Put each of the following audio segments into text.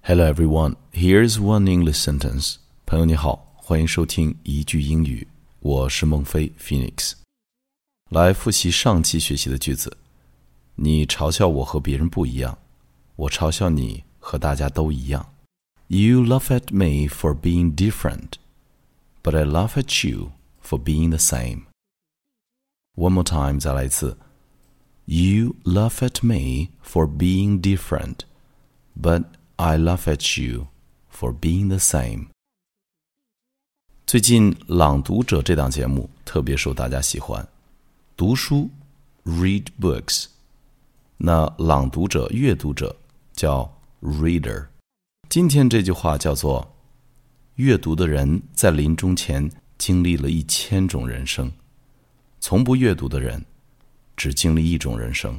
Hello everyone, here's one English sentence. 朋友你好，欢迎收听一句英语，我是孟非 Phoenix。来复习上期学习的句子。你嘲笑我和别人不一样，我嘲笑你和大家都一样。You laugh at me for being different, but I laugh at you for being the same. One more time, 再来一次。You laugh at me for being different, but I laugh at you for being the same. 最近《朗读者》这档节目特别受大家喜欢，读书 read books， 那朗读者阅读者叫 reader。 今天这句话叫做阅读的人在临终前经历了1000种人生，从不阅读的人只经历一种人生。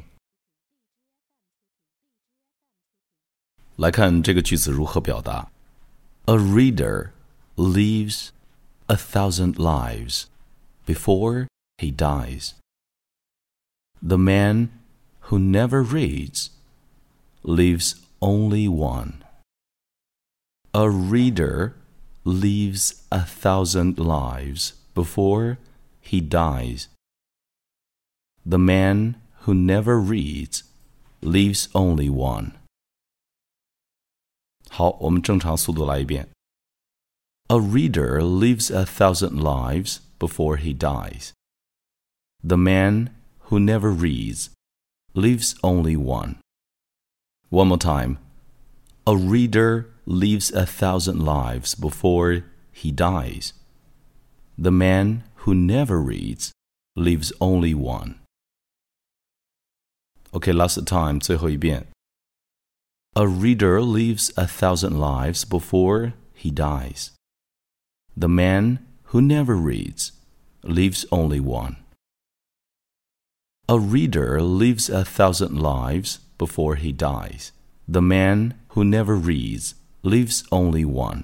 来看这个句子如何表达。 A reader lives 1,000 lives before he dies. The man who never reads lives only one. A reader lives 1,000 lives before he dies. The man who never reads lives only one. 好，我们正常速度来一遍。A reader lives 1,000 lives before he dies. The man who never reads lives only one. One more time. A reader lives 1,000 lives before he dies. The man who never reads lives only one. Okay, last time, 最后一遍。A reader lives 1,000 lives before he dies. The man who never reads lives only one. A reader lives 1,000 lives before he dies. The man who never reads lives only one.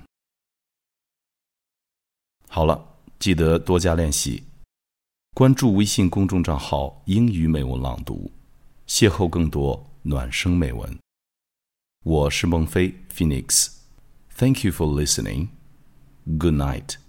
好了，记得多加练习。关注微信公众账号英语美文朗读，邂逅更多暖声美文。我是孟非 Phoenix. Thank you for listening. Good night.